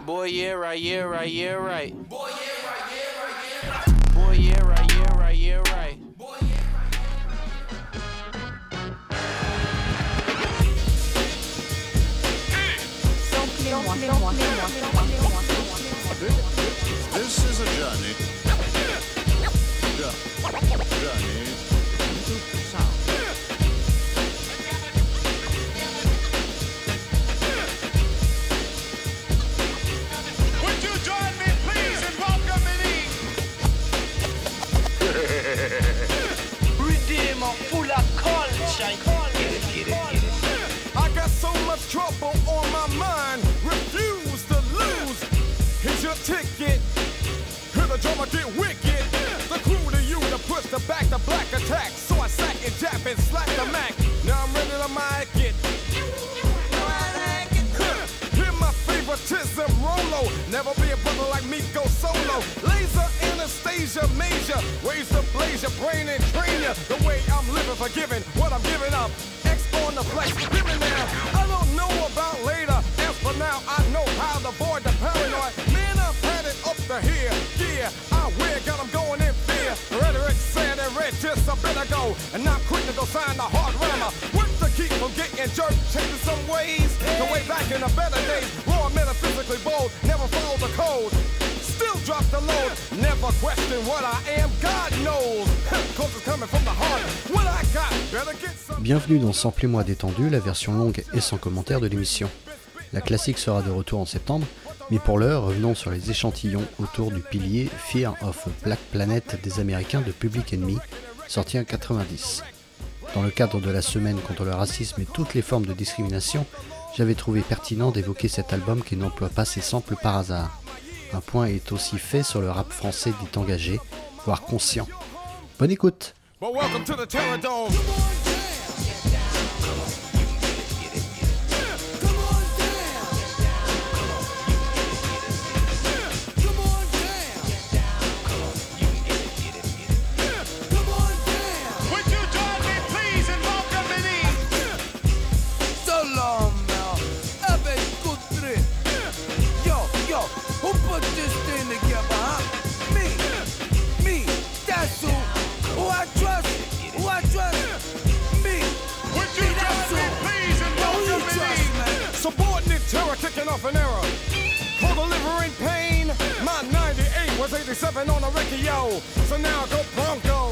Boy, yeah, right, yeah, right, yeah, right. Boy, yeah, right, yeah, right, yeah, right. Boy, yeah, right, yeah, right, yeah, right. Boy, yeah, This is a journey. Journey into sound. Would you join me, please, in welcoming Redeemer full of culture. Get it. I got so much trouble on my mind. Refuse to lose. Here's your ticket. Hear the drummer get wicked. The crew to you to push the back the black attack. So I sack and jab and slack the Mac. Now I'm ready to mic it. Hear my favoritism, Rolo. Never be a brother like me, go solo. Laser Anastasia Major. Ways to blaze your brain and train ya. The way I'm living, forgiving what I'm giving up. X on the flex, living now. I don't know about later. As for now, I know how to avoid the paranoid. Man, I've had it up to here. Yeah, I wear, got them going in fear. Rhetoric said and read just a bit ago. And not quick to go sign the hard rammer. What to keep from getting jerked, changing some ways. The way back in the better days. Raw, metaphysically bold, never follow the code. Still drop the load, never question what I am, God knows. Cause it's coming from the heart. What I got, better get some. Bienvenue dans Samplez-moi détendu, la version longue et sans commentaire de l'émission. La classique sera de retour en septembre, mais pour l'heure, revenons sur les échantillons autour du pilier Fear of Black Planet des Américains de Public Enemy, sorti en 90. Dans le cadre de la semaine contre le racisme et toutes les formes de discrimination, j'avais trouvé pertinent d'évoquer cet album qui n'emploie pas ses samples par hasard. Un point est aussi fait sur le rap français dit engagé, voire conscient. Bonne écoute! Well, welcome to the Terror Dome. Would you join me, please, in welcoming Salam now, avec Koutri. Yo, who put this thing together, huh? Me, that's who I trust, me. Would you join me, please, in welcoming subordinate terror kicking off an era. Co-delivering pain. My 98 was 87 on the Ricky, yo. So now go Bronco.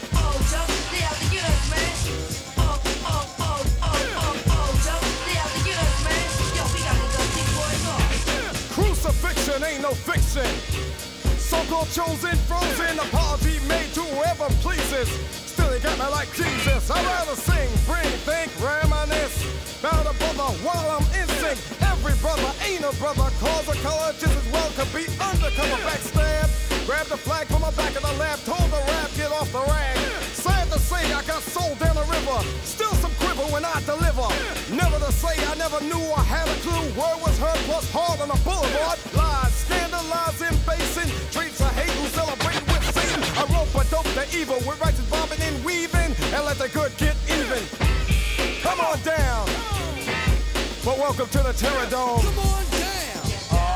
Crucifixion ain't no fiction. So-called chosen, frozen, apology made to whoever pleases. Still he got me like Jesus. I'd rather sing, bring, think, reminisce about a brother while I'm in sync. Every brother ain't a brother, cause a color just as well could be undercover backstab. Grab the flag from the back of the lab, told the rap, get off the rag. Sad to say I got sold down the river, still some quiver when I deliver. Never to say I never knew I had a clue. Word was heard plus hard on the boulevard. Lies, scandalizing, basing, traits of hate who celebrate with Satan. I rope a dope the evil with righteous bobbing and weaving, and let the good get even. Come on down. But welcome to the Terror Dome. Come on down.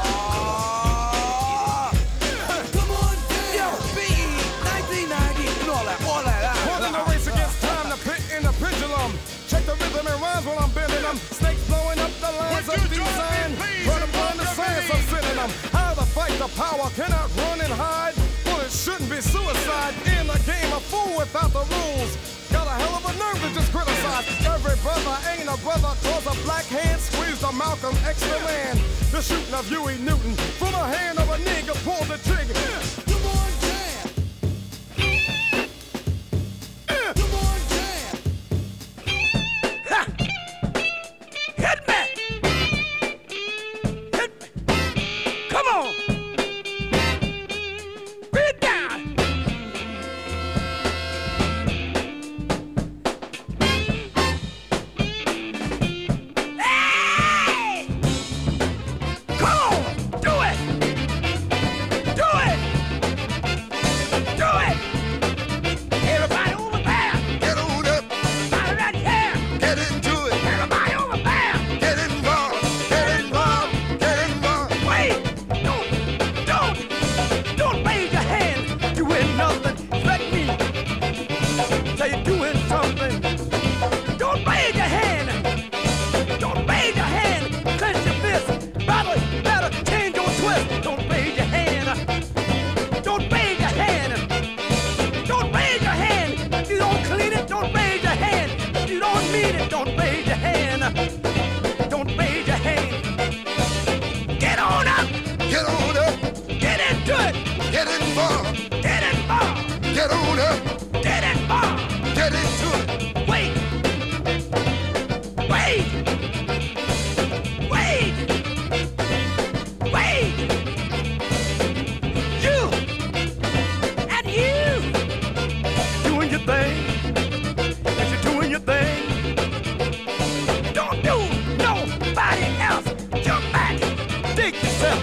Come on down. Yo, BE, 1990, and all that. Holding the race against time, the pit and the pendulum. Check the rhythm and rhymes while I'm bending them. Snakes blowing up the lines of design. Run upon the science, I'm sending them. How to fight the power, cannot run and hide. Bullets shouldn't be suicide. In the game, a fool without the rules. Got a hell of a nerve to just criticize. Every brother ain't a brother, cause a black hand squeezed a Malcolm X the man. The shooting of Huey Newton from the hand of a nigga pulled the trigger. Come on down. Come on down. Ha! Hit me! Come on! Bring it down! Hey! Come on! Do it! Get on up. Get it on. Get into it. Wait. Wait. Wait. Wait. You. And you. Doing your thing. Yes, you're doing your thing. Don't do nobody else. Jump back. Dig yourself.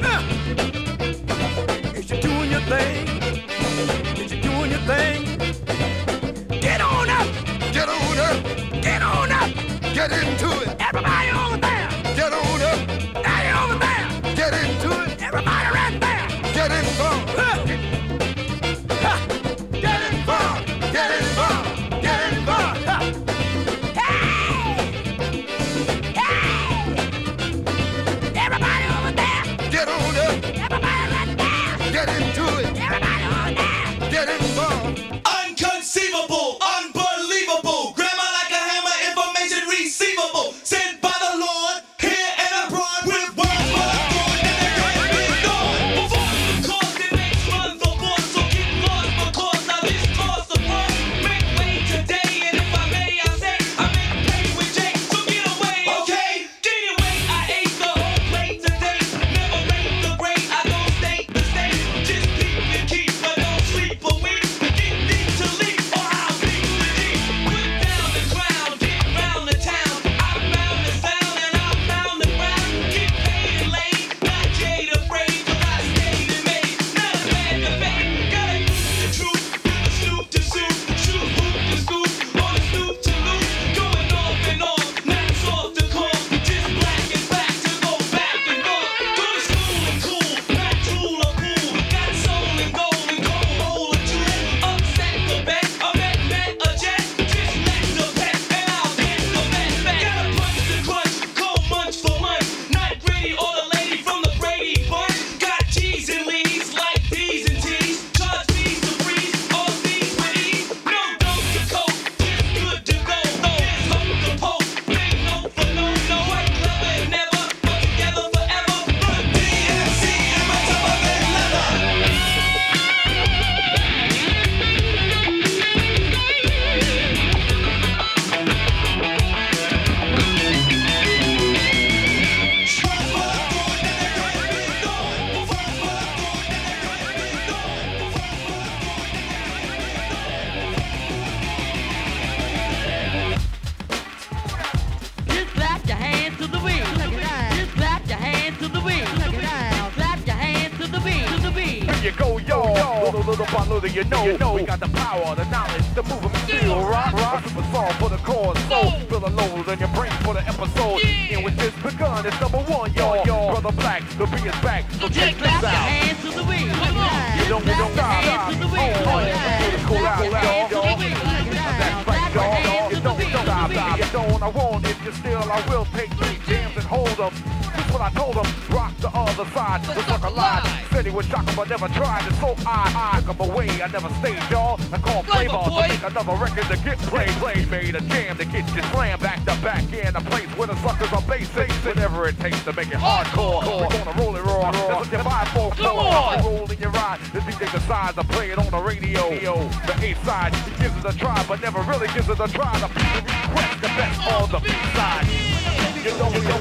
Yes, you're doing your thing. Yes, you're doing your thing. Get on up. Get on up. Get on up. Get into it. Everybody over there. Get on up. Now over there. Get into it. Everybody right there. Get involved. Get involved. Get involved. Get involved. Hey! Hey! Everybody over there. Get on up. Everybody right there. Get into it. Everybody over there. Get involved. Unconceivable, unbelievable, grammar like a hammer, information receivable, sent by the Lord, here and abroad, with words for the Lord, and they can't be ignored. Before the cause, it makes run for force, so get lost, because now this course of work, make way today, and if I may, I say, I make pay with Jake, so get away, okay? Anyway, I ate the whole plate today, never rate the grade, I don't state the state, just keep and keep, but don't sleep a week. Get deep to leap, or I'll leap the deep. Put down the ground, get round the town. I found the sound and I found the ground. Get paid and laid, not jade afraid, 'cause I stayed and made. Not a man to fake, gotta use the truth. With a snoop to suit, shoot hoop to scoop, on the snoop to loop. Going off and on, not soft to call. Just black and back to go back and forth. Go to school and cool, not drool or cool. Got soul and gold and cold hole or two. Upset the bet, a bet a jet. Just let the bet and I'll get the bet back. Gotta punch the crunch, cold munch for lunch. Not Grady or the lady from the Brady bunch. Got G's and leads like D's and T's. Charge fees to breeze, all these with ease. No dose to coke, just good to go. There's hope to poke, big no for no. Quite clever and never, but together forever. But DMC and my tougher than leather. Just clap your hands to the wind. Just clap your hands to the wind. Clap your hands to the beat. To the beat. Here you go, yo. Little by little, you know. We got the power, the knowledge, the movement, feel rock. A super song for the cause. So feel a load in your brain for the episode. And with this begun, it's number one, yo. Brother Black, the beat is back. So Just check clap this your out. hands to the wind. You don't stop. Hands to the wind. Cool out, Hands to the yo. wind. That's Clap right, your y'all. hands You to the don't wind. stop. You don't, I won't. If you're still, I will take 3 jams and hold them. That's what I told them. Rock the other side. The sucker lied. Said he would shock him, but never tried. And so I took him away. I never stayed, y'all. I called Flavor to make another record to get played. Made a jam to get you slammed back to back in a place where the suckers are basic. Whatever it takes to make it hardcore. We're gonna roll it raw. That's what you buy for. Come on. Roll in your ride. The DJ decides to play it on the radio. The A side, he gives it a try, but never really gives it a try. The people request the best on the B side. You don't quit.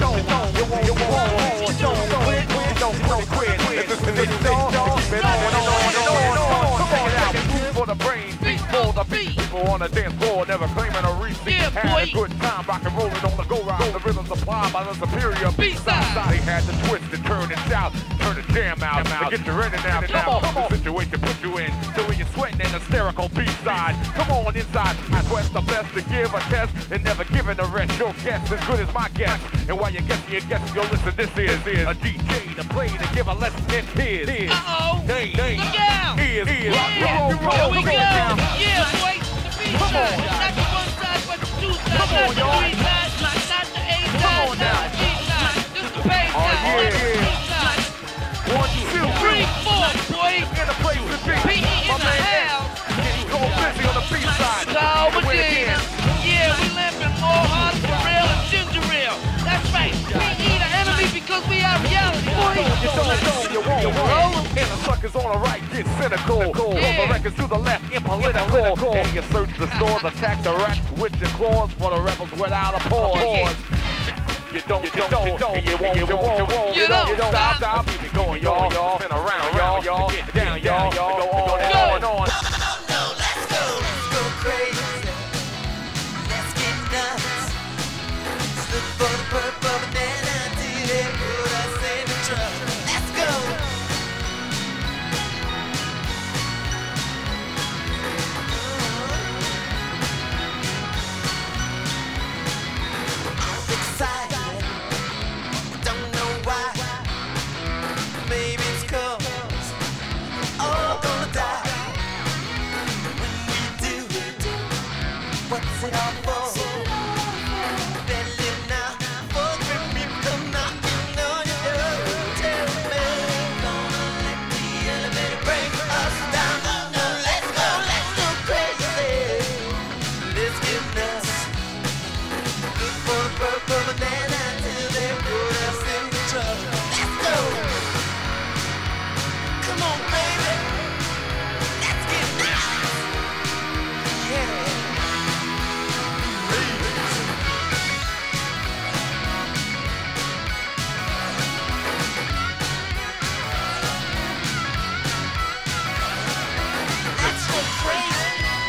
This is the y'all. Keep it on. Come on out. Food for the brain, beat for the beat. People on the dance floor never claiming a receipt. Had a good time, rock and rolling on the go round. The rhythm supplied by the superior B-side. They had to twist and turn and shout, turn the jam out. Get you ready now. Come on. The situation put you in. So when you're sweating an hysterical B-side. Come on inside. I quest the best to give a test and never giving the rest. Your guess as good as my guess. And while you're guessing, yo, listen, this is a DJ to play to give a lesson in his. Uh-oh. Name. Look out. Is. Here we go. Yeah, boy. The B Come on. side. Not the one side, but the two sides. Come on, not the y'all. three sides, not the A side, Come on not now. the G side. This the bass Oh, side, not the yeah. C side. 1, 2, 3, 4, boy. In the place to be. PE in the house. Go busy on the B-side. So Medina. Yeah, we limping more hard for real and ginger ale. That's right. We eat an enemy because we are reality, boy. You don't, you won't. In a sucker records on the right get cynical. From the records to the left get political. And you search the stores, attack the racks with your claws for the rebels without a pause. You don't stop. Keep it going, y'all. Spin around, y'all. Get down, y'all. Go on and on and on. Let's go crazy. Let's get nuts. Look for the purple banana till they put us in the truck. Let's go. I'm excited. Don't know why. Maybe it's 'cause all gonna die. When we do, what's it all for? Better live now, before the people come knocking on your door. Tell me, gonna let the elevator break us down. No, let's go crazy. Let's get nuts. Look for the purple banana till they put us in trouble. Let's go. Come on, baby. Let's get nuts. Yeah. Let's go crazy.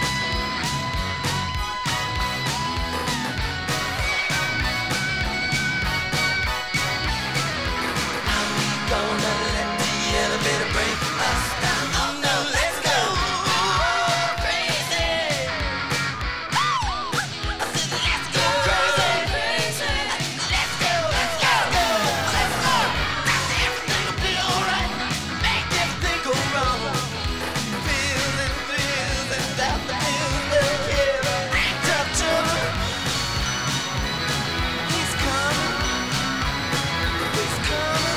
Gonna let the elevator break us down. Oh no, let's go crazy. I said let's go crazy. Let's go. Everything will be alright. Make everything go wrong. Feels and without the feels will kill. Act up trouble. He's coming. He's coming.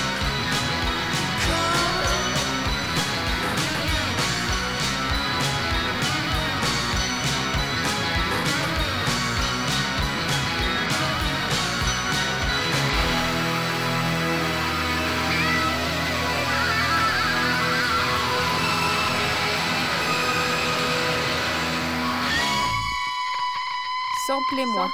Samplez-moi.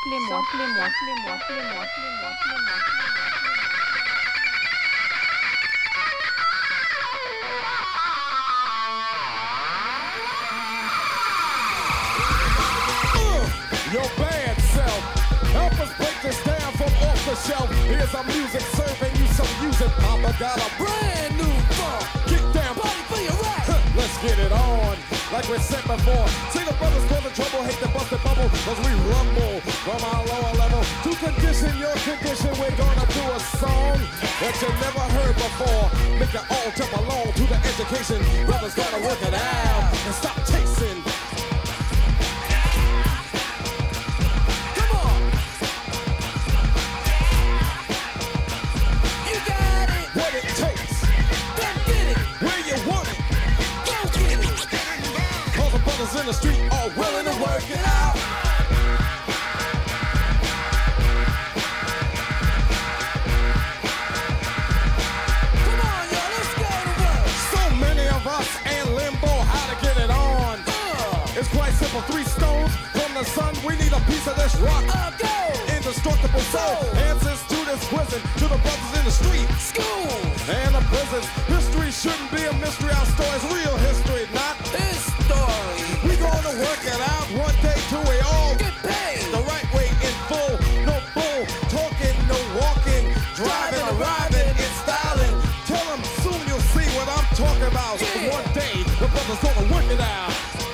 Your bad self. Help us break this down from off the shelf. Here's our music serving you some music. Papa got a brand new funk. Kick down, party for your right. Let's get it on. Like we said before, single brothers cause the trouble, hate the busted bubble, cause we rumble from our lower level. To condition your condition, we're gonna do a song that you never heard before. Make it all jump along to the education. Brothers gotta work it out and stop chasing. Come on! You got it! What it takes! Then get it! Where you want it! Go get it! Cause the brothers in the street are willing to work it out. Come on, y'all, let's go to work. So many of us in limbo, how to get it on. It's quite simple, 3 stones from the sun. We need a piece of this rock. Go! Indestructible soul. Answers to this prison, to the brothers in the street. School! And the prisons. History shouldn't be a mystery. Our story's real history, not this story. We gonna work it out one day till we all get paid. The right way in full. No bull. Talking, no walking. Driving, arriving, and styling. Tell them soon you'll see what I'm talking about. One day, the brothers gonna work it out.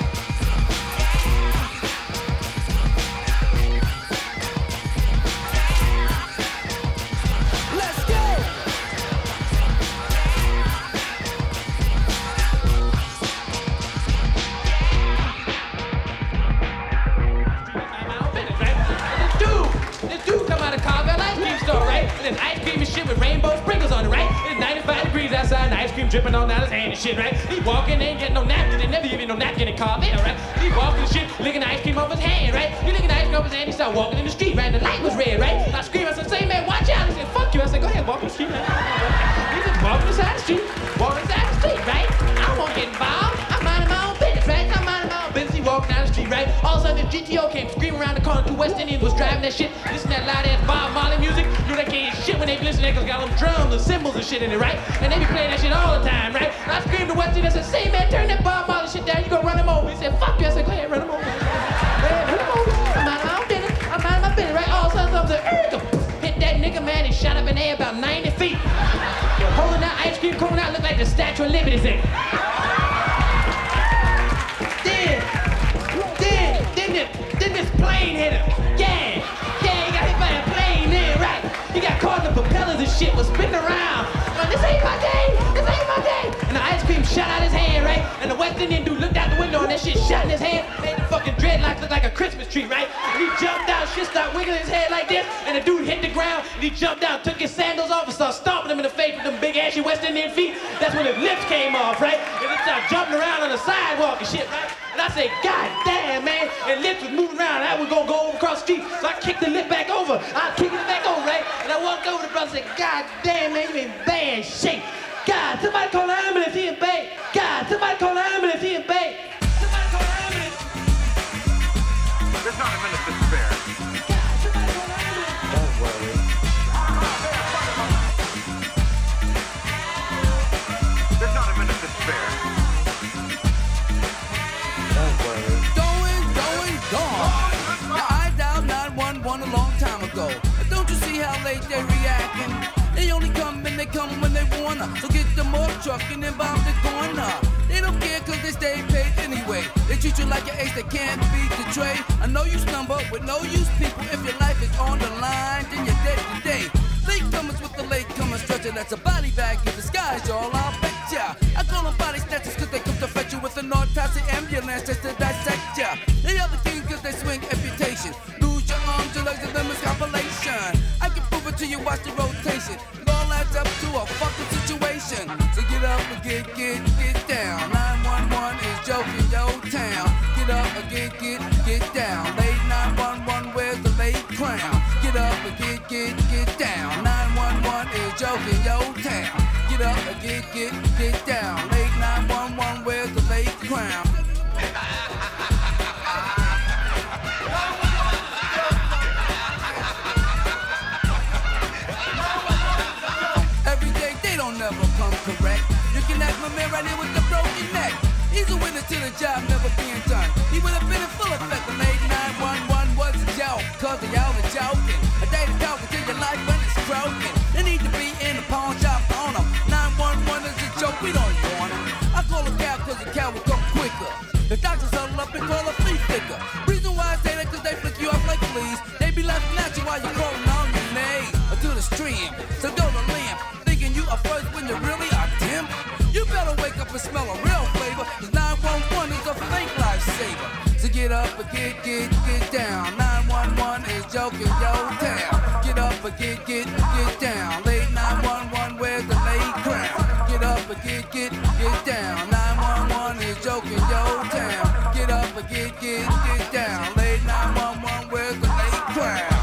Let's go! This dude come out of Carvel ice cream store, right? And there's ice cream and shit with rainbow sprinkles on it, right? It's 95 degrees outside and ice cream dripping on out his hand and shit, right? He walking, ain't getting no napkin, they never give you no napkin in Carvel, right? He walking and shit, licking ice cream off his hand, right? He licking ice cream off his hand, he started walking in the street, right? And the light was red, right? And I screamed, I said, say man, watch out. He said, fuck you. I said, go ahead, walk in the street, man. He said, walking inside the street, right? and the GTO came screaming around the corner. Two West Indians was driving that shit, listening to that loud ass Bob Marley music. You know they can't shit when they be listening to it, cause got them drums and cymbals and shit in it, right? And they be playing that shit all the time, right? And I screamed to West Indians, I said, say man, turn that Bob Marley shit down, you gonna run him over. He said, fuck you. I said, go ahead, run him over. Run him over. I'm minding my own business. I'm minding my business, right? All of a sudden, something hit that nigga, man, and shot up in the air about 90 feet. Holding that ice cream cone out, looked like the Statue of Liberty thing. Then this plane hit him. Yeah, he got hit by a plane there, right? He got caught in the propellers and shit, was spinning around. This ain't my day, this ain't my day. And the ice cream shot out his hand, right? And the West Indian dude looked out the window and that shit shot in his hand, made the fucking dreadlocks look like a Christmas tree, right? And he jumped out, shit started wiggling his head like this, and the dude hit the ground, and he jumped out, took his sandals off, and started stomping him in the face with them big ashy West Indian feet. That's when his lips came off, right? And he started jumping around on the sidewalk and shit, right? And I said, God damn, man. And lips was moving around. I was gonna go over across the street. So I kicked the lip back over. I kicked it back over, right? And I walked over to the brother and said, God damn, man, you in bad shape. God, somebody call an ambulance, he in bed. God, somebody call an ambulance, he in bed. Somebody call an ambulance. There's not a minute to spare. God, somebody call an ambulance. Don't worry. There's not a minute to spare. Gone. Now I dialed 911 a long time ago. Don't you see how late they reacting? They only come and they come when they wanna. So get the more truck and then bomb the corner. They don't care cause they stay paid anyway. They treat you like an ace that can't be betrayed. I know you stumble with no use people. If your life is on the line, then you're dead today. Latecomers with the latecomer stretcher. That's a body bag in disguise, y'all, I'll bet ya. I call them body snatchers cause they come to fetch you with an autopsy ambulance just to dissect ya. They are the king cause they swing amputation. Lose your arms, your legs, and them is compilation. I can prove it to you, watch the rotation. It all adds up to a fucking situation. So get up and get down. 911 is joking your town. Get up and get down. Late 911, where's the late clown? Get up and get down. 911 is joking your town. Get up and get down. Late 911, where's the late clown? Every day they don't never come correct. You can ask my man right here with the broken neck. He's a witness to the job never being done. He would have been in full effect when late 911 was a joke. Cause they all are joking. A day to talk until your life when it's broken. They need to be in the pawn shop on them. 911 is a joke, we don't want them. I call a cow cause the cow will come quicker. The doctors huddle up and call a flea flicker. Reason why I say that cause they flick you off like fleas. They be laughing at you while you're crawling on your knees. Or to the stream, so go to limp. Thinking you are first when you really are dim. You better wake up and smell a real flavor. Cause 911 is a fake lifesaver. So get up and get down. 911 is joking your town. Get up and get down. Late 911, where's the late crowd? Get up and get down. 911 is joking your town. Get up and get down. Late 911, where's the late crowd?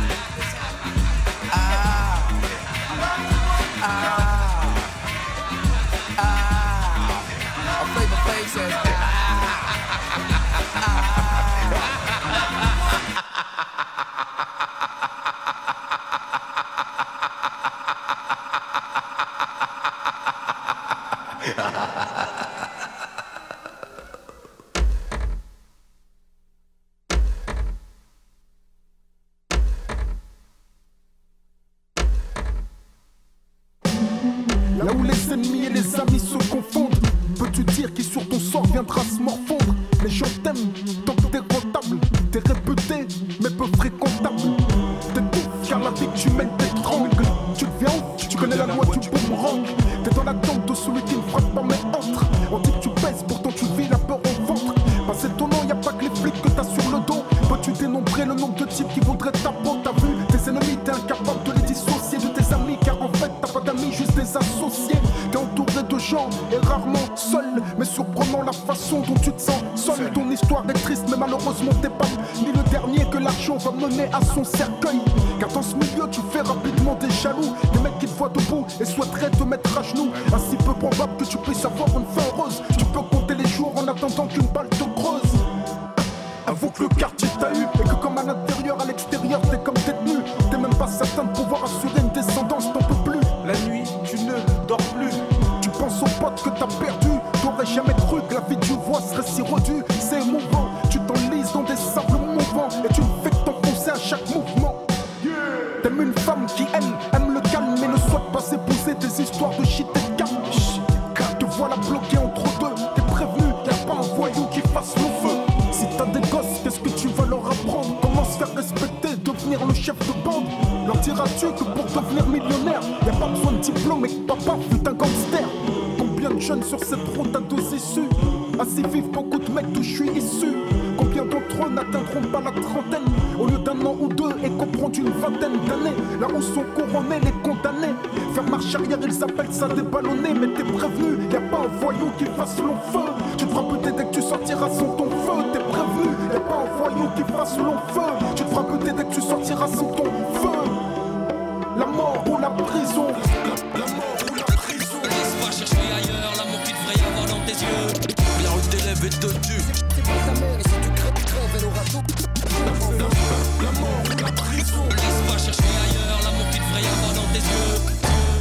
A Flavor Flav says Là où les ennemis et les amis se confondent, peux-tu dire qui sur ton sort viendra se morfondre? Les gens t'aiment tant que t'es rentable, t'es réputé mais peu fréquentable. T'étouffes car la vie que tu mènes t'étrangle. Tu deviens ouf, tu connais la loi du boomerang. T'es dans la tente de celui qui ne frappe pas mais entre. On dit que tu pèses, pourtant tu vis la peur au ventre. Pas étonnant, y'a pas que les flics que t'as sur le dos. Peux-tu dénombrer le nombre de types qui voudraient ta peau? T'as vu tes ennemis, t'es incapable de les dissocier de tes amis. Car en fait t'as pas d'amis, juste des associés. T'es entouré de gens et rarement seul. Mais surprenant la façon dont tu te sens seul. Ton histoire est triste mais malheureusement t'es pas ni le dernier que l'argent va mener à son cercueil. Car dans ce milieu tu fais rapidement des jaloux. Des mecs qui te voient debout et souhaiteraient te mettre à genoux. Ainsi peu probable que tu puisses avoir une fin heureuse. Tu peux compter les jours en attendant qu'une balle te creuse. Avoue que le quart aux potes que t'as perdus. T'aurais jamais cru que la vie que tu vois serait si redue. C'est émouvant, tu t'enlises dans des sables mouvants et tu ne fais que t'enfoncer à chaque mouvement. T'aimes une femme qui aime le calme mais ne souhaite pas épouser des histoires de shit et de calme. Te voilà bloqué entre deux, t'es prévenu, y'a pas un voyou qui fasse le feu. Si t'as des gosses, qu'est-ce que tu vas leur apprendre? Comment se faire respecter, devenir le chef de bande? Leur diras-tu que pour devenir millionnaire, y'a pas besoin de diplôme et que papa fut un gangster? Combien de jeunes sur cette route à deux issues? Ainsi vivent beaucoup de mecs d'où je suis issu. Combien d'entre eux n'atteindront pas la trentaine au lieu d'un an ou deux et comprendre une vingtaine d'années? Là où sont couronnés les condamnés, faire marche arrière ils appellent ça déballonner. Mais t'es prévenu, y'a pas un voyou qui fasse long feu. Tu te feras buter dès que tu sortiras sans ton feu. T'es prévenu, y'a pas un voyou qui fasse long feu. Tu te feras buter dès que tu sortiras sans ton feu. La mort ou la prison. La mort ou la prison. Laisse pas chercher ailleurs l'amour qu'il devrait y avoir dans tes yeux. La rue t'élève et te tue. C'est pas ta mère et si tu crèves, elle aura tout. La mort ou la prison. Laisse pas chercher ailleurs l'amour qu'il devrait y avoir dans tes yeux.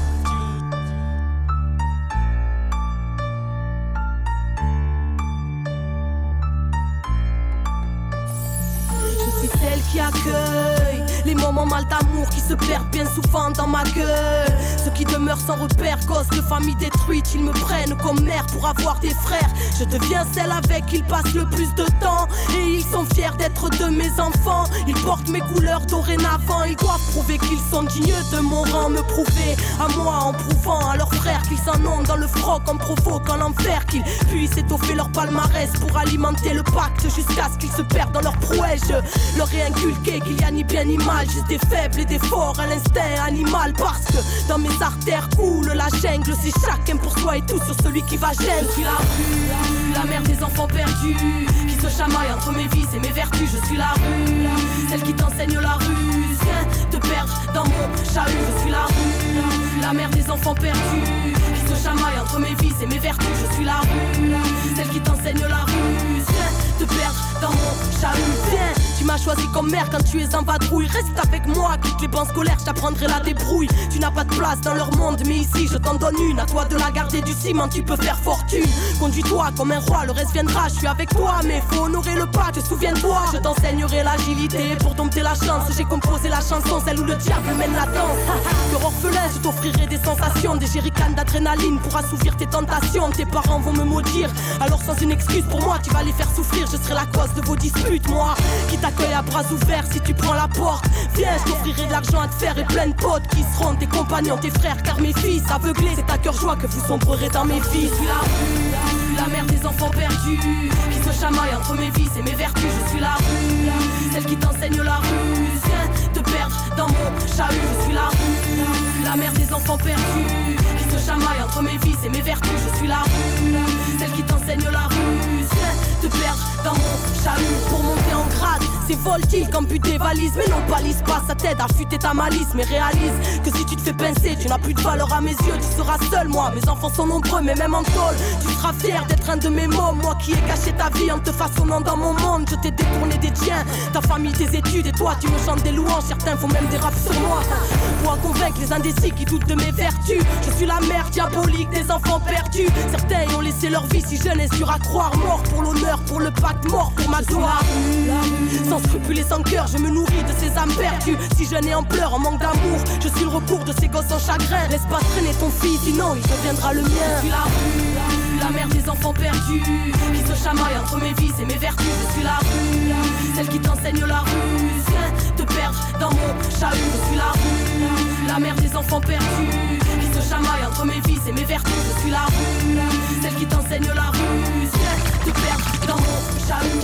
Je suis celle qui accueille les moments mal d'amour qui se perdent bien souvent dans ma gueule. Ceux qui demeurent sans repère, gosses de famille détruite, ils me prennent comme mère pour avoir des frères. Je deviens celle avec qui ils passent le plus de temps et ils sont fiers d'être de mes enfants. Ils portent mes couleurs dorénavant, ils doivent prouver qu'ils sont dignes de mon rang. Me prouver à moi en prouvant à leurs frères qu'ils s'en ont dans le froc en provoquant l'enfer, qu'ils puissent étoffer leur palmarès pour alimenter le pacte jusqu'à ce qu'ils se perdent dans leur prouesse. Je leur ai inculqué qu'il y a ni bien ni mal, juste des faibles et des forts à l'instinct animal. Parce que dans mes artères coule la jungle, c'est chacun pour soi et tout sur celui qui va gêner. Je suis la rue, la mère des enfants perdus, qui se chamaille entre mes vices et mes vertus. Je suis la rue, celle qui t'enseigne la ruse, viens te perdre dans mon chahut. Je suis la rue, la mère des enfants perdus, qui se chamaille entre mes vices et mes vertus. Je suis la rue, celle qui t'enseigne la ruse, viens te perdre dans mon chahut. Viens, tu m'as choisi comme mère quand tu es en vadrouille. Reste avec moi, quitte les bancs scolaires, je t'apprendrai la débrouille. Tu n'as pas de place dans leur monde, mais ici je t'en donne une. À toi de la garder du ciment, tu peux faire fortune. Conduis-toi comme un roi, le reste viendra. Je suis avec toi, mais faut honorer le pas, te souviens-toi. Je t'enseignerai l'agilité pour dompter la chance. J'ai composé la chanson, celle où le diable mène la danse. Cœur orphelin, je t'offrirai des sensations, des jerrycans d'adrénaline pour assouvir tes tentations. Tes parents vont me maudire, alors sans une excuse pour moi, tu vas les faire souffrir. Je serai la cause de vos disputes, moi qui t'accueille à bras ouverts si tu prends la porte. Viens, je t'offrirai de l'argent à te faire et plein de potes qui seront tes compagnons, tes frères, car mes fils aveuglés, c'est à cœur joie que vous sombrerez dans mes vies. Je suis la rue, la mère des enfants perdus, qui se chamaille entre mes vices et mes vertus. Je suis la rue, celle qui t'enseigne la ruse, viens te perdre dans mon chahut. Je suis la rue, la mère des enfants perdus, qui se chamaille entre mes vices et mes vertus. Je suis la rue, celle qui t'enseigne la ruse, viens te perdre dans mon chahut. Pour monter en grade, c'est voltige quand but tes valises. Mais non, balise pas, ça t'aide à fuiter ta malice. Mais réalise que si tu te fais pincer, tu n'as plus de valeur à mes yeux. Tu seras seul, moi, mes enfants sont nombreux, mais même en tôle, tu seras fier d'être un de mes mômes. Moi qui ai caché ta vie en te façonnant dans mon monde. Je t'ai détourné des tiens, ta famille, tes études. Et toi, tu me chantes des louanges, certains font même des raps sur moi. Pour convaincre les indécis qui doutent de mes vertus. Je suis la mère diabolique des enfants perdus. Certains y ont laissé leur vie si jeune et dur à croire. Mort pour l'honneur, pour le pacte, mort pour ma gloire. Sans scrupules et sans cœur, je me nourris de ces âmes perdues. Si jeune et en pleurs, en manque d'amour, je suis le recours de ces gosses en chagrin. Laisse pas traîner ton fils, sinon il deviendra le mien. Je suis la rue, la mère des enfants perdus, qui se chamaille entre mes vices et mes vertus. Je suis la rue, celle qui t'enseigne la ruse, viens te perdre dans mon chahut. Je suis la rue, la mère des enfants perdus, qui se chamaille entre mes vices et mes vertus. Je suis la rue, celle qui t'enseigne la ruse, viens te perdre dans mon chahut.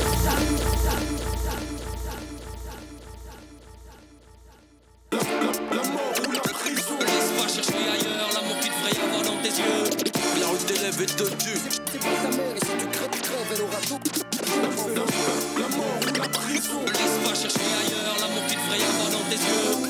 Laisse pas chercher ailleurs l'amour qu'il devrait y avoir dans tes yeux. La rue t'élève et te tue. C'est pas ta mère et si tu crèves, elle aura tout. La mort ou la prison. Laisse pas chercher ailleurs l'amour qu'il devrait y avoir dans tes yeux.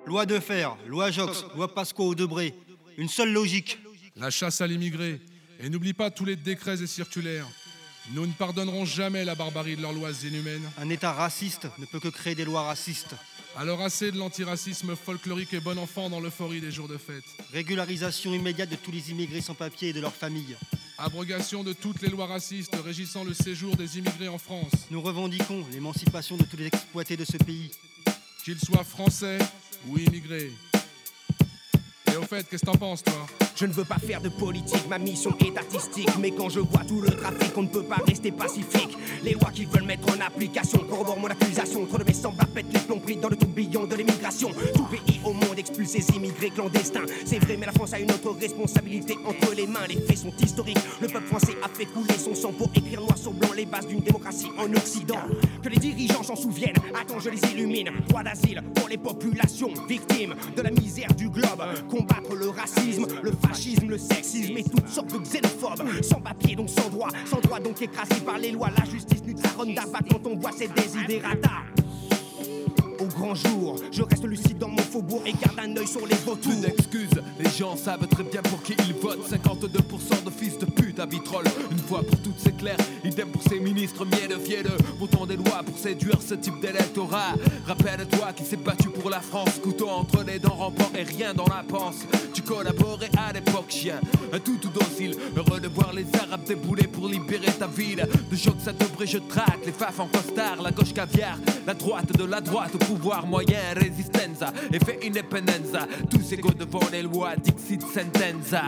loi Defer, loi Jox, loi Pasqua-Debré. Une seule logique. La chasse à l'immigré. Et n'oublie pas tous les décrets et circulaires. Nous ne pardonnerons jamais la barbarie de leurs lois inhumaines. Un État raciste ne peut que créer des lois racistes. Alors assez de l'antiracisme folklorique et bon enfant dans l'euphorie des jours de fête. Régularisation immédiate de tous les immigrés sans papier et de leurs familles. Abrogation de toutes les lois racistes régissant le séjour des immigrés en France. Nous revendiquons l'émancipation de tous les exploités de ce pays. Qu'ils soient français ou immigrés. Et au fait, qu'est-ce que t'en penses, toi ? Je ne veux pas faire de politique, ma mission est artistique. Mais quand je vois tout le trafic, on ne peut pas rester pacifique. Les lois qu'ils veulent mettre en application corroborent mon accusation. Trop de mes semblables pètent les plombs pris dans le tourbillon de l'émigration. Tout pays au monde expulse ses immigrés clandestins. C'est vrai, mais la France a une autre responsabilité entre les mains. Les faits sont historiques. Le peuple français a fait couler son sang pour écrire noir sur blanc les bases d'une démocratie en Occident. Que les dirigeants s'en souviennent, attends, je les illumine. Droit d'asile pour les populations victimes de la misère du globe. Combattre le racisme, le fascisme, le sexisme et toutes sortes de xénophobes. Sans papier donc sans droit donc écrasé par les lois. La justice nous taronne d'abat quand on voit ces désidérata. Au grand jour, je reste lucide dans mon faubourg et garde un œil sur les vautours. Plus d'excuses, les gens savent très bien pour qui ils votent. 52% de fils de pute à vitrolles. Une fois pour toutes c'est clair, idem pour ces ministres mielleux. Votant des lois pour séduire ce type d'électorat. Rappelle-toi qui s'est battu pour la France. Couteau entre les dents, rampant et rien dans la panse. Tu collaborais à l'époque, chien, un tout docile. Heureux de voir les Arabes débouler pour libérer ta ville. De Jox à Debré je traque, les faf en costard. La gauche caviar, la droite de la droite. Pouvoir moyen, résistenza, effet independenza. Tous égaux devant les lois, dixit sentenza.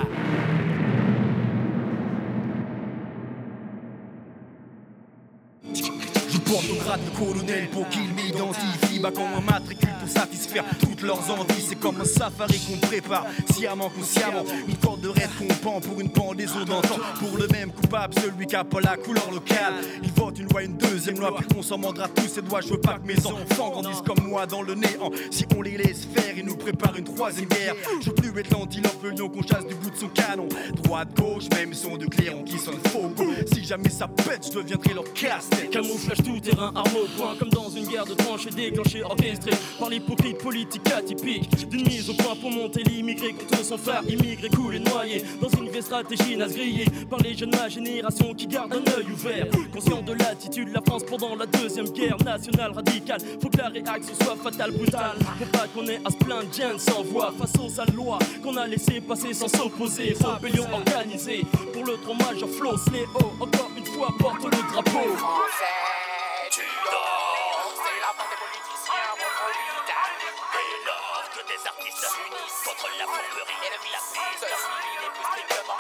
Je porte au grade de colonel pour qu'ils m'identifient. Quand on matricule pour satisfaire toutes leurs envies. C'est comme un safari qu'on prépare, sciemment consciemment. Une corde de raid qu'on pend pour une pendaison d'antan. Pour le même coupable, celui qui a pas la couleur locale. Il vote une loi, une deuxième loi, puis on s'en mandera tous ses doigts. Je veux pas que mes enfants grandissent comme moi dans le néant. Si on les laisse faire, ils nous préparent une troisième guerre. Je veux plus être l'antilope, le lion qu'on chasse du bout de son canon. Droite, gauche, même son de clairon qui sonne faux. Si jamais ça pète, je deviendrai leur casse-tête. Camouflage tout terrain, arme au point, comme dans une guerre de tranchées déclenchée, orchestrée par l'hypocrite politique atypique. D'une mise au point pour monter l'immigré contre son frère immigré coulé noyé dans une vieille stratégie naze grillée par les jeunes de ma génération qui gardent un œil ouvert. Conscient de l'attitude de la France pendant la deuxième guerre nationale radicale, faut que la réaction soit fatale, brutale. Faut pas qu'on ait à se plaindre, Jen sans voix face aux sales lois qu'on a laissé passer sans s'opposer. Rébellion organisée pour le trop majeur Flo Sléo, encore une fois porte le drapeau. Tu dors, c'est la fin des politiciens, votre vital. Et lors que des artistes s'unissent contre la fourberie et la piste civile est plus strictement.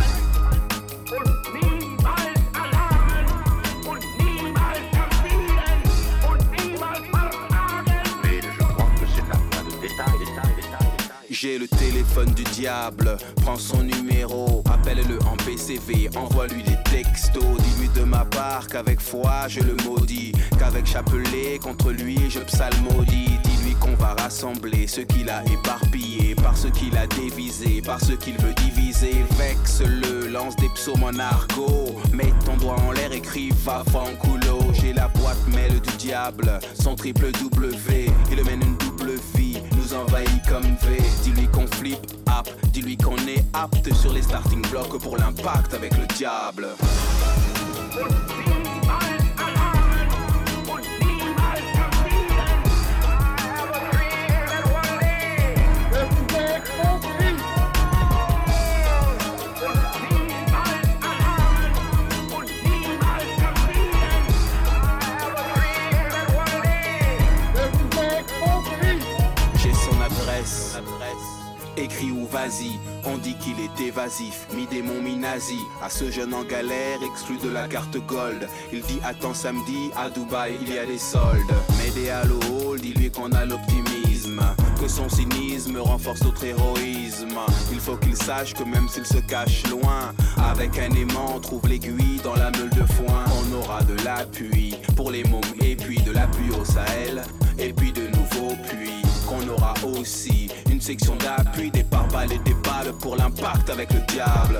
Mais je crois que c'est un tas de détails. J'ai le téléphone du diable, prends son numéro, appelle-le en PCV, envoie-lui des textos. Dis-lui de ma part qu'avec foi je le maudis, qu'avec chapelet contre lui je psalmodie. Dis-lui qu'on va rassembler ce qu'il a éparpillé, par ce qu'il a dévisé, par ce qu'il veut diviser. Vexe-le, lance des psaumes en argot, mets ton doigt en l'air, écris va fanculo. J'ai la boîte mail du diable, son triple W, il mène une double vie, nous envahit comme V. Dis-lui qu'on flippe, app, dis-lui qu'on est apte sur les starting blocks pour l'impact avec le diable. Écris ou vas-y, on dit qu'il est évasif, mi-démon, mi-nazi. À ce jeune en galère, exclu de la carte gold. Il dit attends samedi, à Dubaï il y a des soldes. M'aider à l'eau, dis-lui qu'on a l'optimisme, que son cynisme renforce notre héroïsme. Il faut qu'il sache que même s'il se cache loin, avec un aimant on trouve l'aiguille dans la meule de foin. On aura de l'appui pour les mômes et puis de l'appui au Sahel, et puis de nouveaux puits. Qu'on aura aussi une section d'appui, des pare-balles et des balles pour l'impact avec le diable.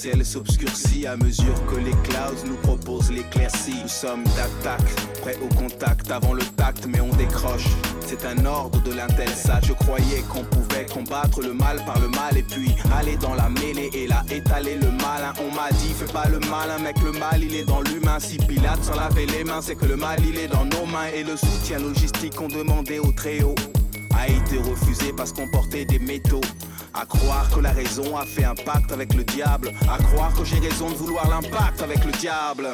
ciel s'obscurcit à mesure que les clouds nous proposent l'éclaircie. Nous sommes d'attaque, prêts au contact avant le tact, mais on décroche. C'est un ordre de l'Intelsat. Je croyais qu'on pouvait combattre le mal par le mal et puis aller dans la mêlée et là étaler le malin. On m'a dit fais pas le malin mec, le mal il est dans l'humain. Si Pilate s'en lavait les mains, c'est que le mal il est dans nos mains. Et le soutien logistique qu'on demandait au Très-Haut a été refusé parce qu'on portait des métaux. À croire que la raison a fait un pacte avec le diable. À croire que j'ai raison de vouloir l'impact avec le diable.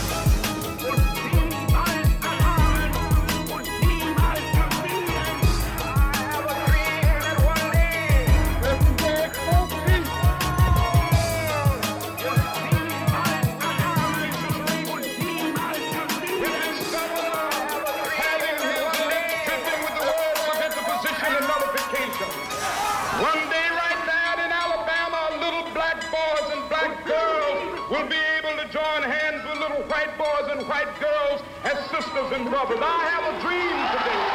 White girls as sisters and brothers. I have a dream today.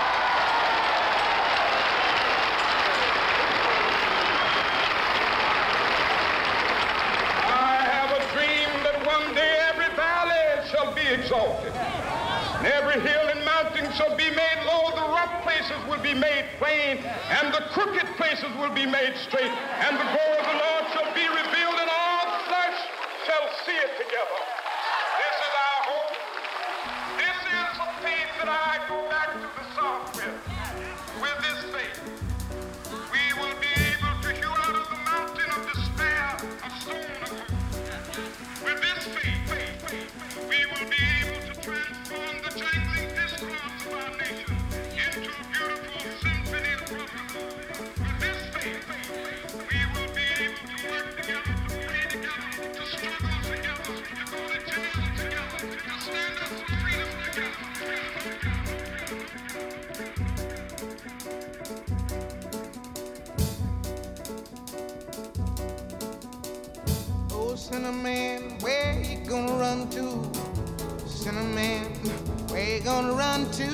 I have a dream that one day every valley shall be exalted, and every hill and mountain shall be made low. The rough places will be made plain, and the crooked places will be made straight, and the glory of the Lord shall be revealed, and all flesh shall see it together. This is our hope. This is the faith that I go back to the South with. With this faith, we will be able to hew out of the mountain of despair a stone of hope. With this faith, we will be able to transform the jangling discords of our nation into a beautiful symphony of brotherhood. With this faith, we will be able to work together, to pray together, to struggle together, to go to jail together, to stand up for freedom together. Oh, Cinnamon, where you gonna run to? Cinnamon, where you gonna run to?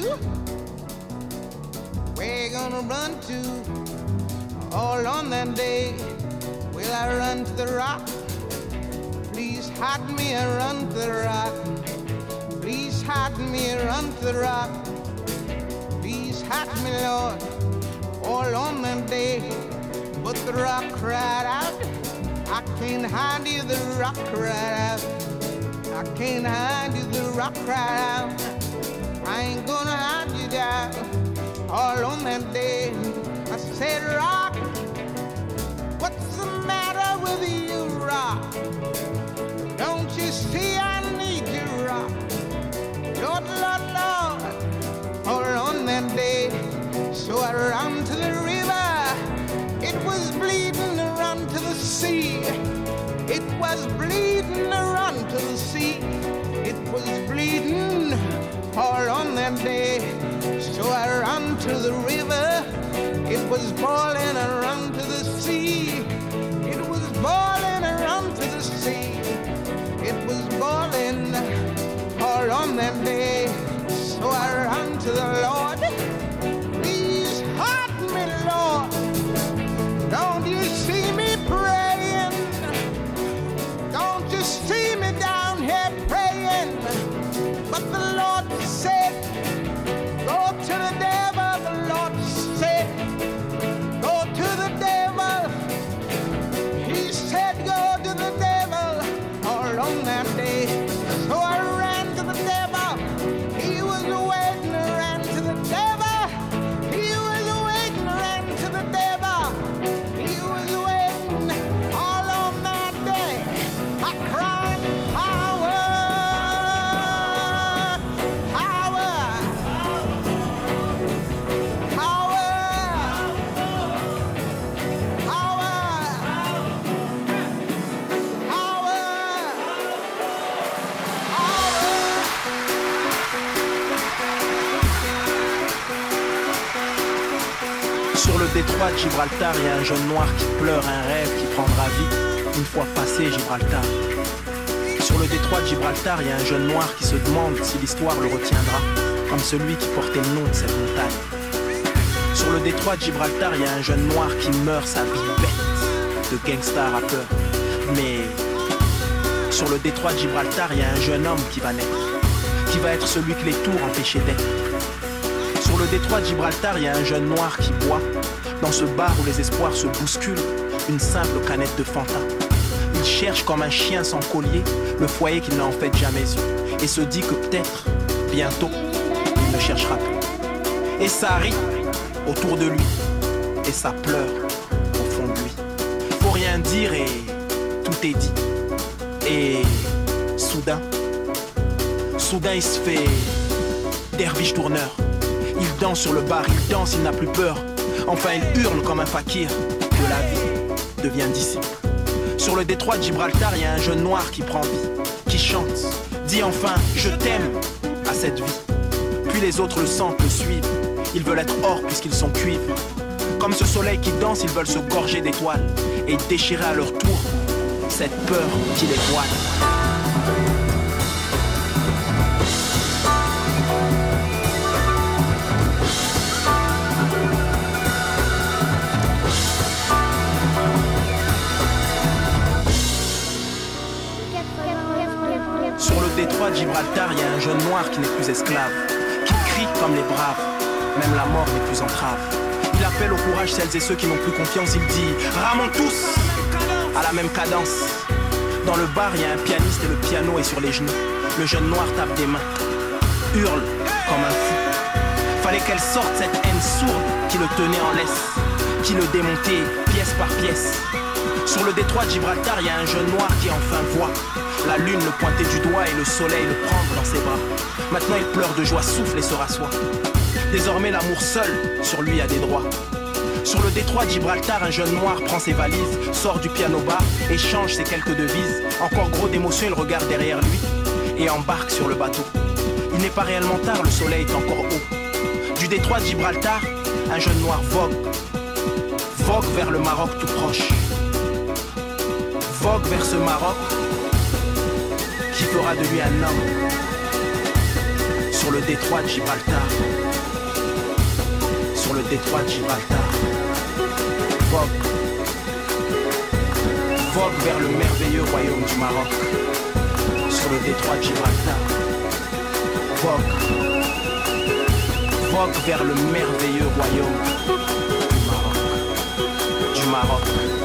Where you gonna run to? All on that day, will I run to the rock? Please hide me and run to the rock. Please hide me and run to the rock. Please hide me, Lord, all on that day. But the rock cried out, I can't hide you, the rock cried out. I can't hide you, the rock cried out. I ain't gonna hide you down. All on that day, I said, rock, what's the matter with you, rock? Don't you see I need you, rock? Lord, Lord, Lord, all on that day. So I ran to the river, it was bleeding to run to the sea. It was bleeding to run to the sea. It was bleeding all on that day. So I ran to the river, it was boiling, I ran to the sea. It was boiling, I ran to the sea. It was boiling all on that day. So I ran to the Lord. Please hide me, Lord. Don't you see me praying? Don't you see me down here praying? But the Lord said, go to the devil. The Lord said, go to the devil. He said, go to the devil all on that day. So I ran to the devil. He was waiting, I ran to the devil. He was waiting, I ran to the devil. He was waiting all on that day. I cried, power, power, Sur le détroit de Gibraltar, il y a un jeune noir qui pleure un rêve qui prendra vie une fois passé Gibraltar. Sur le détroit de Gibraltar, il y a un jeune noir qui se demande si l'histoire le retiendra, comme celui qui portait le nom de cette montagne. Sur le détroit de Gibraltar, il y a un jeune noir qui meurt sa vie bête de gangsta rappeur. Mais sur le détroit de Gibraltar, il y a un jeune homme qui va naître, qui va être celui que les tours empêchaient d'être. Sur le détroit de Gibraltar, il y a un jeune noir qui boit, dans ce bar où les espoirs se bousculent, une simple canette de Fanta. Il cherche comme un chien sans collier le foyer qu'il n'a en fait jamais eu, et se dit que peut-être, bientôt, il ne cherchera plus. Et ça rit autour de lui, et ça pleure au fond de lui. Faut rien dire et tout est dit. Et soudain, il se fait derviche tourneur. Il danse sur le bar, il danse, il n'a plus peur. Enfin il hurle comme un fakir que la vie devient disciple. Sur le détroit de Gibraltar, il y a un jeune noir qui prend vie, qui chante, dit enfin je t'aime à cette vie. Puis les autres le sentent, le suivent. Ils veulent être or puisqu'ils sont cuivres. Comme ce soleil qui danse, ils veulent se gorger d'étoiles et déchirer à leur tour cette peur qui les voile. Sur le détroit de Gibraltar, il y a un jeune noir qui n'est plus esclave, qui crie comme les braves, même la mort n'est plus entrave. Il appelle au courage celles et ceux qui n'ont plus confiance, il dit « Ramons tous !» à la même cadence. Dans le bar, il y a un pianiste et le piano est sur les genoux. Le jeune noir tape des mains, hurle comme un fou. Fallait qu'elle sorte cette haine sourde qui le tenait en laisse, qui le démontait pièce par pièce. Sur le détroit de Gibraltar, il y a un jeune noir qui enfin voit la lune le pointer du doigt et le soleil le prendre dans ses bras. Maintenant il pleure de joie, souffle et se rassoit. Désormais l'amour seul sur lui a des droits. Sur le détroit de Gibraltar, un jeune noir prend ses valises, sort du piano-bar, échange ses quelques devises. Encore gros d'émotion, il regarde derrière lui et embarque sur le bateau. Il n'est pas réellement tard, le soleil est encore haut. Du détroit de Gibraltar, un jeune noir vogue vers le Maroc tout proche. Vogue vers ce Maroc qui fera de lui un homme. Sur le détroit de Gibraltar, sur le détroit de Gibraltar, vogue vers le merveilleux royaume du Maroc. Sur le détroit de Gibraltar, vogue vers le merveilleux royaume du Maroc.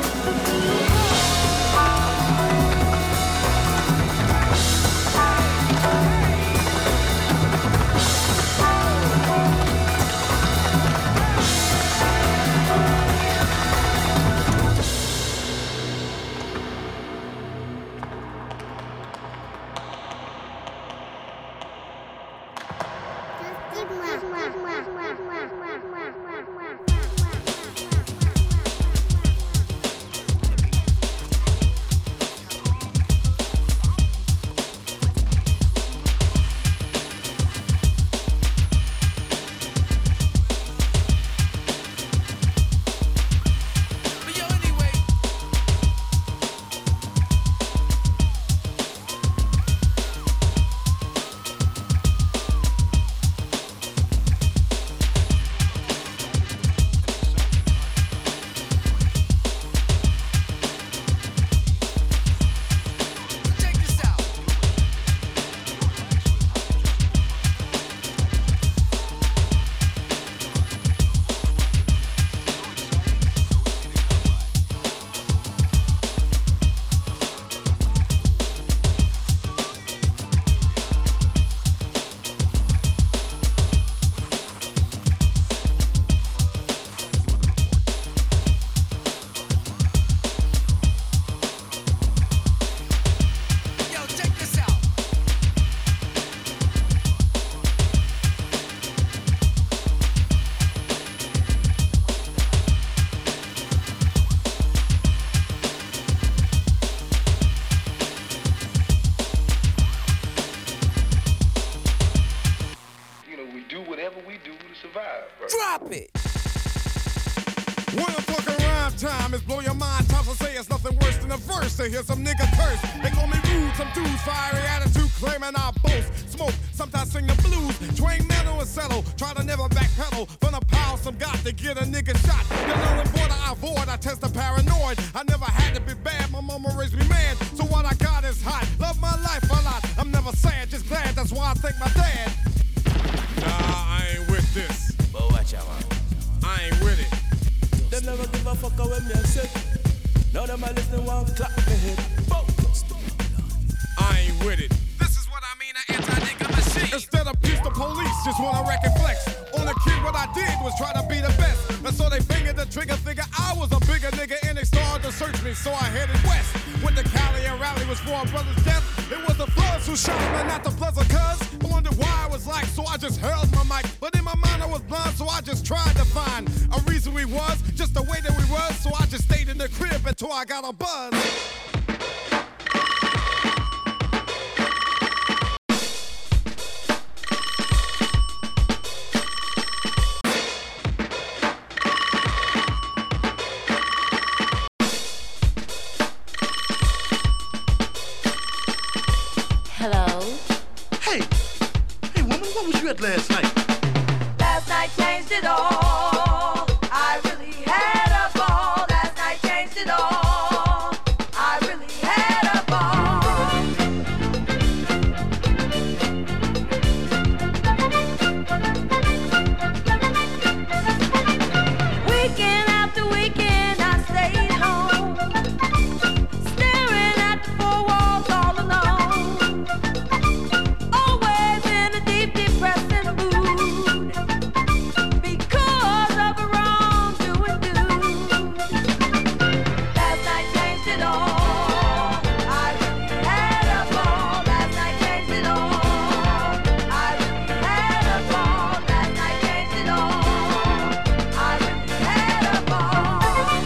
Drop it! When I'm fucking rhyme time is blow your mind. Times I say it's nothing worse than a verse to hear some nigga curse. They call me rude, some dudes fiery attitude claiming I boast. smoke, sometimes sing the blues. Train metal and settle, try to never backpedal. From the power some got to get a nigga shot. The knowing border I avoid, I test the paranoid. I never had to be bad, my mama raised me mad. So what I got is hot, love my life a lot. I'm never sad, just glad, that's why I thank my dad. Nah, I ain't with this. But watch out, I ain't with it. Them never give a fuck when me a sick. Now them a listen one clap me head. I ain't with it. This is what I mean, an anti-nigga machine. Instead of peace, the police just wanna wreck and flex. On the kid, what I did was try to be the best. And so they fingered the trigger, figure I was a bigger nigga, and they started to search me, so I headed west. Went to Cali and Raleigh was for a brother's death. It was the Bloods who shot him and not the Bloods of cuz. I wondered why I was like, so I just held my mic. But in my mind I was blind, so I just tried to find a reason we was, just the way that we was. So I just stayed in the crib until I got a buzz. Last night. Last night changed it all. I really had a ball. Last night changed it all. I really had a ball. Weekend after weekend I stayed home, staring at the four walls all alone. Always in a deep depressing mood because of a wrongdoing dude. Last night changed it all. I really had a ball. Last night changed it all. I really had a ball. Last night changed it all. I really had a ball.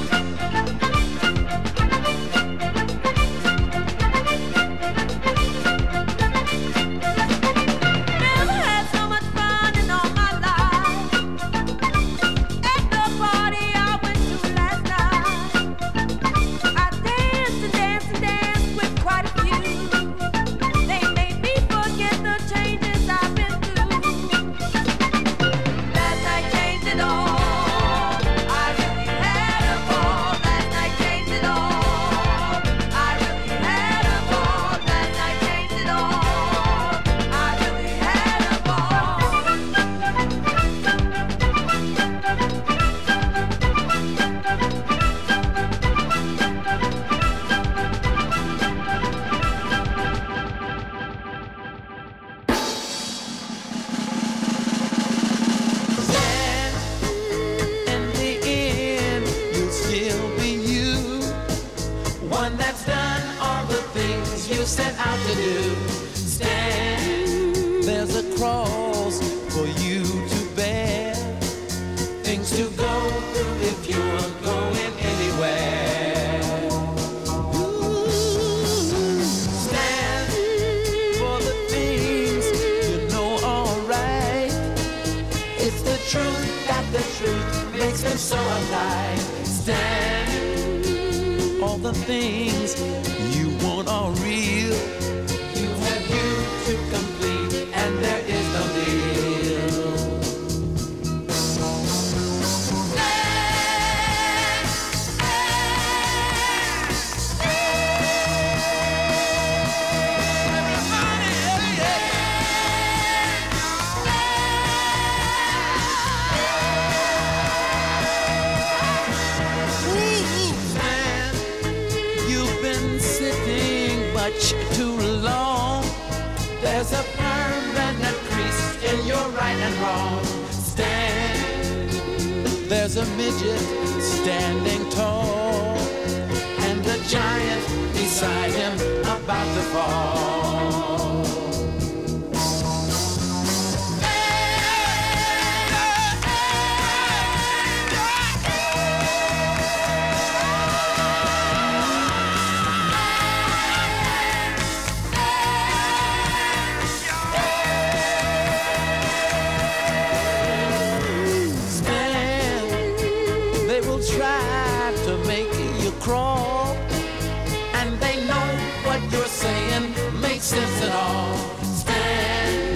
Never had so much fun in all my life. At the party I went to last night, I danced and danced and danced with quite a few. They made me forget the changes I've been through. Last night changed it all. I really had a ball. Last night changed it all. I really had a ball. Last night changed it all. I really had a ball. In the end, you'll still be you. One that's done all the things you set out to do. Stand, there's a cross for you to bear. Things to go through if you're going anywhere. Stand for the things you know are right. It's the truth that the truth makes them so alive. Stand, all the things you want are real. You have you to complete, and there is no deal. You've been sitting much too long. There's a permanent crease in your right and wrong. Stand, there's a midget standing tall, and a giant beside him about to fall. They will try to make you crawl, and they know what you're saying makes sense at all. Stand,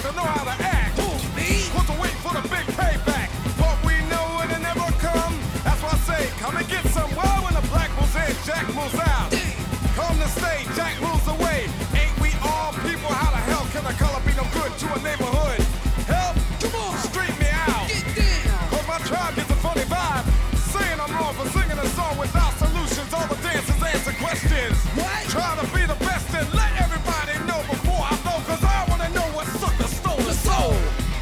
to know how to act. What's to wait for the big payback? But we know it'll never come. That's why I say, come and get some. Well, when the black moves in, Jack moves out. Come to stay, Jack moves away. Ain't we all people? How the hell can a color be no good to a neighborhood? Help! Come on, straighten me out. Get down. Cause my tribe gets a funny vibe. Saying I'm wrong for singing a song without solutions. All the dancers answer questions. What? Try to be the best and let everybody know before I blow. Cause I wanna know what sucker stole the soul.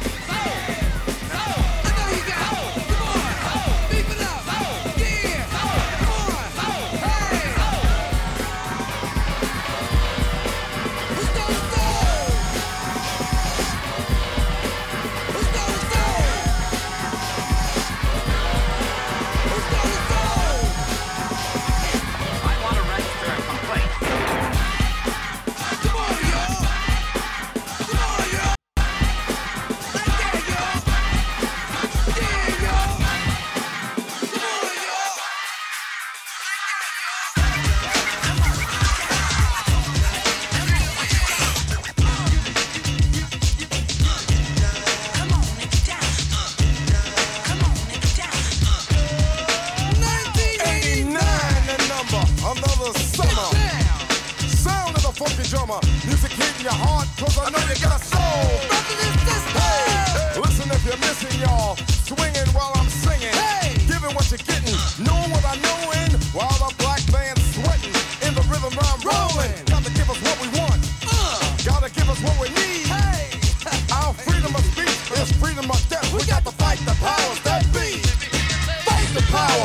Music hitting your heart, cause I know you got a soul. Hey, listen if you're missing, y'all. Swinging while I'm singing. Hey, giving what you're getting. Knowing what I know in. While the black band's sweating. In the rhythm I'm rolling. Gotta give us what we want. Gotta give us what we need. Hey, our freedom of speech is freedom of death. We got to fight the powers that be. Fight the power.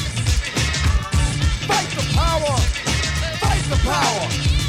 Fight the power. Fight the power.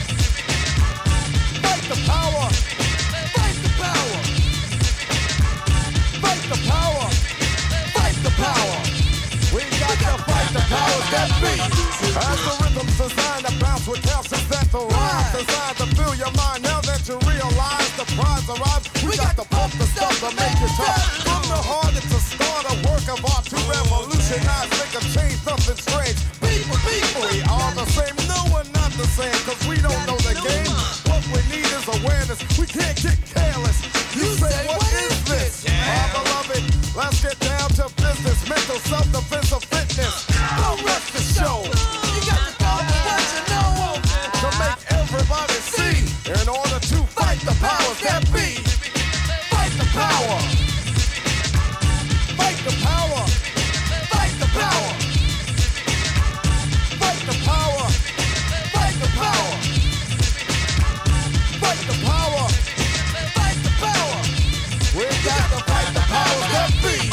Fight the power! Fight the power! Fight the power! Fight the power! We got to fight the powers that be! As the rhythm's designed to bounce with calcium that the rhymes designed to fill your mind. Now that you realize the prize arrives, we got to pump the stuff to make it tough. From the heart it's a start, a work of art to revolutionize, make a change, something strange. People, we are the same, no we're not the same, cause we don't know the game. What we need is awareness, we can't get careless. You say, what is this? Our beloved, let's get down to business. Mental self-defense of fitness. Don't rush the show. You got to go with what you know. To make everybody see. In order to fight the powers that be. Fight the power. Fight the power. Fight the power. Fight the power. Fight the power. Fight the power. Fight the power. We got to fight the powers that be.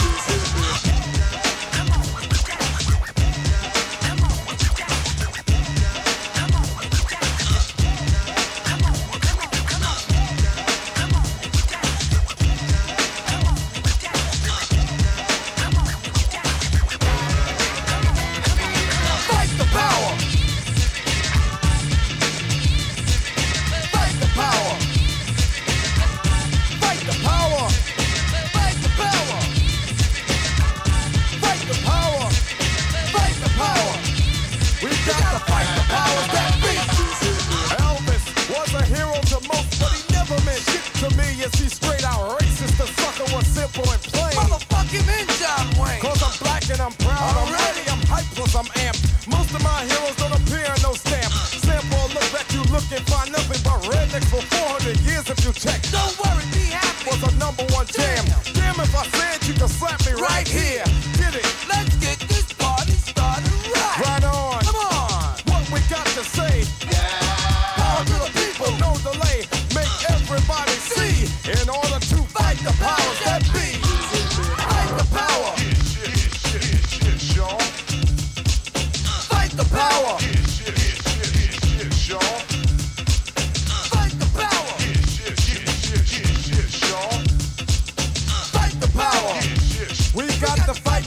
We got to fight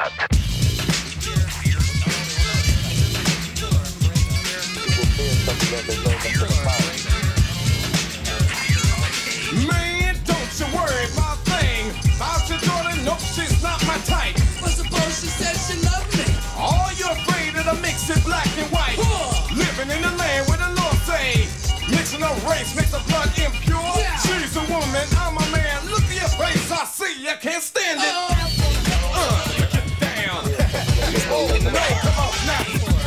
Man, don't you worry about a thing. About your daughter, nope, she's not my type. But suppose she said she loved me. All you're afraid of the mix it black and white. Living in the land where the Lord say, mixing up race makes the blood impure. Yeah. She's a woman, I'm a man. Look at your face, I see you can't stand it. Get down. Oh no, come on now.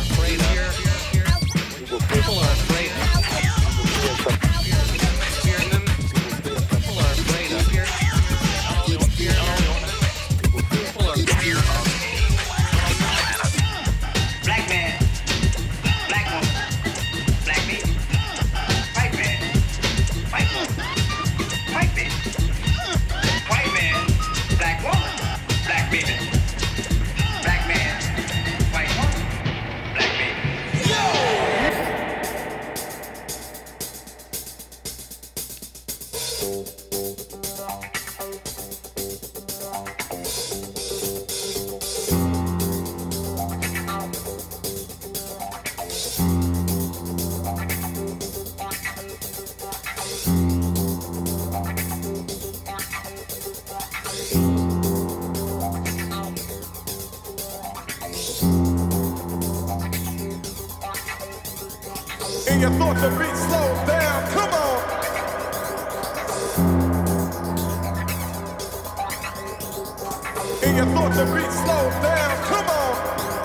People are afraid. Black man, black woman, black baby. White man, white woman, white baby. White man, black woman, black baby. Black man, white woman, black baby. And you thought the beat slowed down, come on. And you thought the beat slowed down, come on.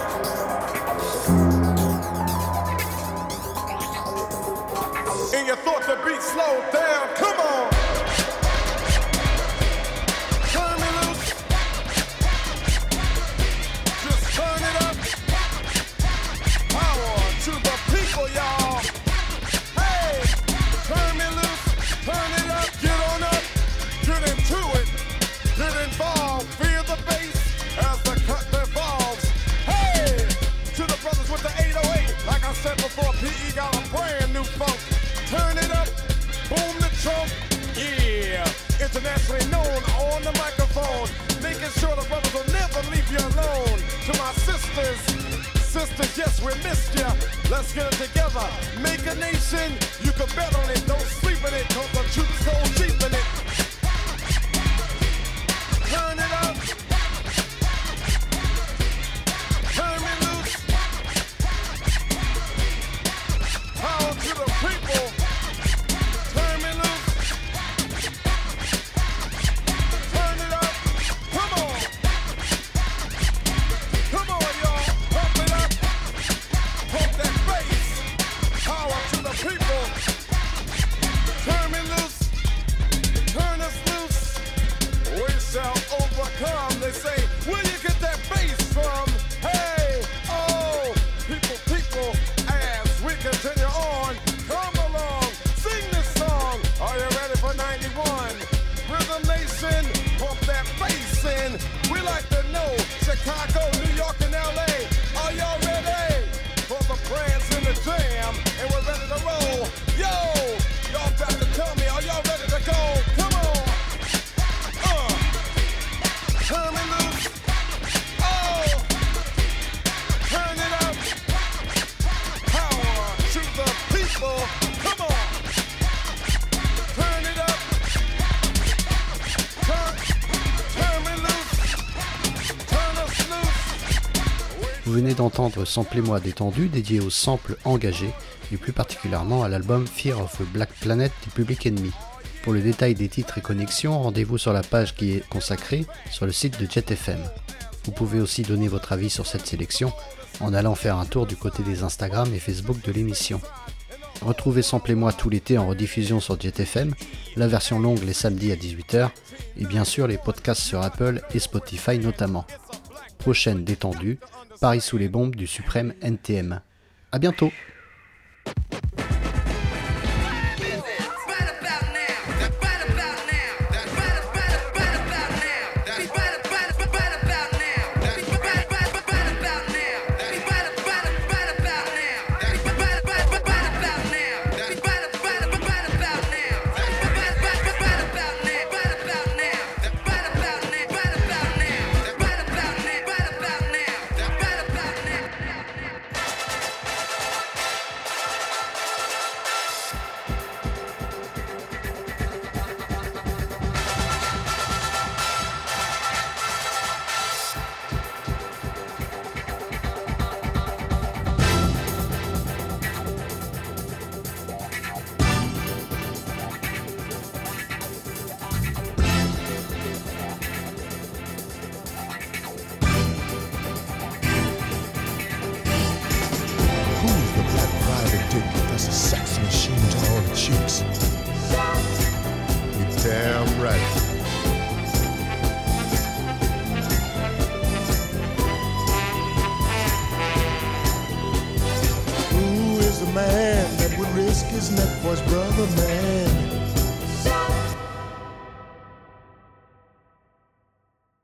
And you thought the beat slowed down, come on. Turn me loose. Just turn it up. Power to the people, y'all. Hey, turn me loose, turn it up, get on up, get into it, get involved, feel the bass as the cut evolves. Hey, to the brothers with the 808, like I said before, PE got a brand new funk. Turn it up, boom the trump, yeah. Internationally known on the microphone, making sure the brothers will never leave you alone. To my sisters, yes, we missed ya. Let's get it together. Make a nation. You can bet on it. Don't sleep in it. Cause the truth's so cheap in it. Turn it up. Turn me loose. Power to the people. Turn me loose. Turn it up. Come on. Come on, y'all. Pump it up. Pump that bass. Power to the people. Turn me loose. Turn us loose. We shall overcome. They say, where you get that bass from? Hey, oh, people, as we continue on, come along, sing this song. Are you ready for 91? Rhythm Nation, pump that bass in. We like to know, Chicago, New York, and LA. Are y'all ready for the prance and the jam? And we're ready to roll. Yo, y'all got to tell me, are y'all ready to go? Come on. Turn me loose. Oh, turn it up. Power to the people. Come on. Turn it up. Turn me loose. Turn us loose. Vous venez d'entendre Samplez-moi détendu, dédié aux samples engagés, et plus particulièrement à l'album Fear of a Black Planet du Public Enemy. Pour le détail des titres et connexions, rendez-vous sur la page qui est consacrée sur le site de Jet FM. Vous pouvez aussi donner votre avis sur cette sélection en allant faire un tour du côté des Instagram et Facebook de l'émission. Retrouvez Samplez-moi tout l'été en rediffusion sur Jet FM, la version longue les samedis à 18h, et bien sûr les podcasts sur Apple et Spotify notamment. Prochaine détendue, Paris sous les bombes du suprême NTM. A bientôt!